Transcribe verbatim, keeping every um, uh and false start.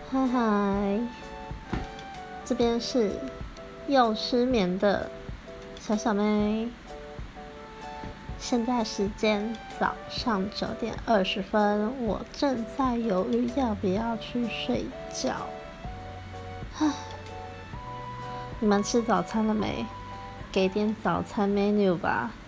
嗨嗨，这边是又失眠的小小妹。现在时间早上九点二十分，我正在犹豫要不要去睡觉。唉，你们吃早餐了没？给点早餐 menu 吧。